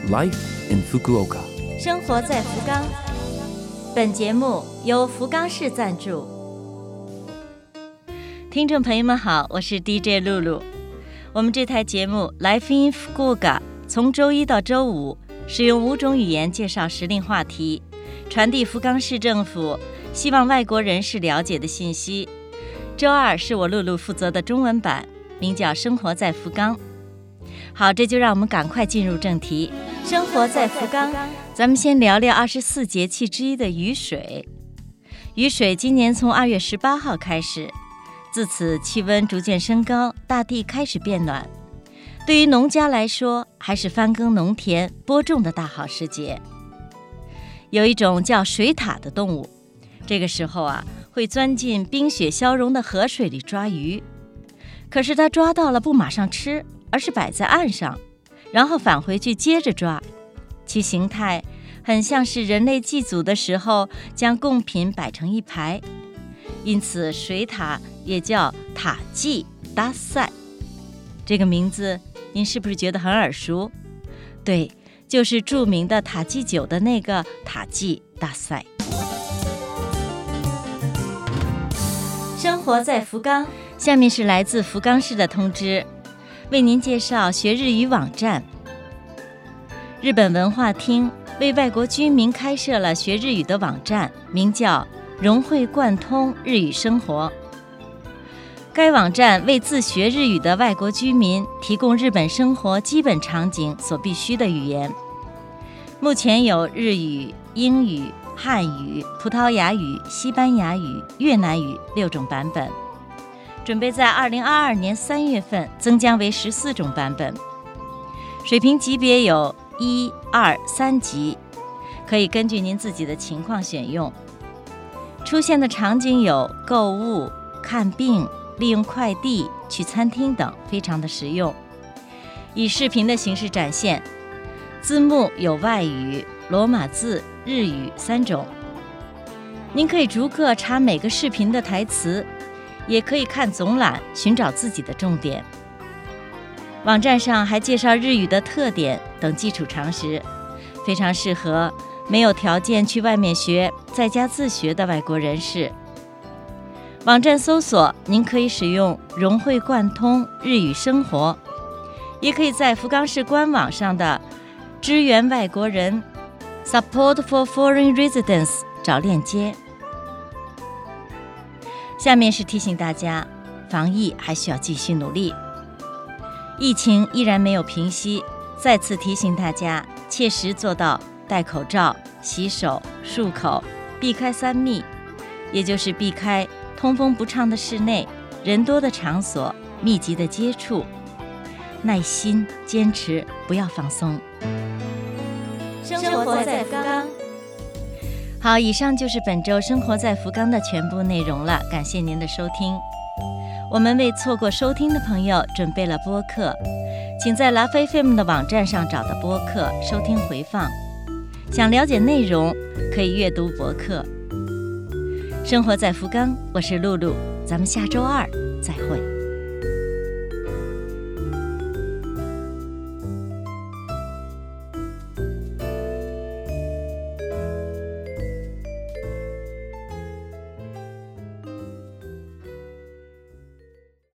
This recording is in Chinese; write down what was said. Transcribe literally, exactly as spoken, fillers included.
Life in Fukuoka。 生活在福冈。本节目由福冈市赞助。听众朋友们好，我是 D J 露露。我们这台节目 Life in Fukuoka 从周一到周五使用五种语言介绍时令话题，传递福冈市政府希望外国人士了解的信息。周二是我露露负责的中文版，名叫生活在福冈。好，这就让我们赶快进入正题。生活在福冈，咱们先聊聊二十四节气之一的雨水。雨水今年从二月十八号开始，自此气温逐渐升高，大地开始变暖。对于农家来说，还是翻耕农田、播种的大好时节。有一种叫水獭的动物，这个时候啊，会钻进冰雪消融的河水里抓鱼。可是它抓到了不马上吃，而是摆在岸上，然后返回去接着抓。其形态很像是人类祭祖的时候将贡品摆成一排，因此水獭也叫塔祭大赛。这个名字您是不是觉得很耳熟？对，就是著名的塔祭酒的那个塔祭大赛。生活在福冈，下面是来自福冈市的通知，为您介绍学日语网站。日本文化厅为外国居民开设了学日语的网站，名叫融会贯通日语生活。该网站为自学日语的外国居民提供日本生活基本场景所必须的语言。目前有日语、英语、汉语、葡萄牙语、西班牙语、越南语六种版本，准备在二零二二年三月份增加为十四种版本。水平级别有一、二、三级，可以根据您自己的情况选用。出现的场景有购物、看病、利用快递、去餐厅等，非常的实用。以视频的形式展现，字幕有外语、罗马字、日语三种。您可以逐个查每个视频的台词，也可以看总览，寻找自己的重点。网站上还介绍日语的特点等基础常识，非常适合没有条件去外面学，在家自学的外国人士。网站搜索您可以使用融会贯通日语生活，也可以在福冈市官网上的支援外国人 Support for Foreign Residents 找链接。下面是提醒大家，防疫还需要继续努力。疫情依然没有平息，再次提醒大家切实做到戴口罩、洗手、漱口，避开三密，也就是避开通风不畅的室内、人多的场所、密集的接触。耐心坚持，不要放松。生活在福冈。好，以上就是本周生活在福冈的全部内容了，感谢您的收听。我们为错过收听的朋友准备了播客，请在 Love F M 的网站上找到播客收听回放。想了解内容，可以阅读博客。生活在福冈，我是露露，咱们下周二再会。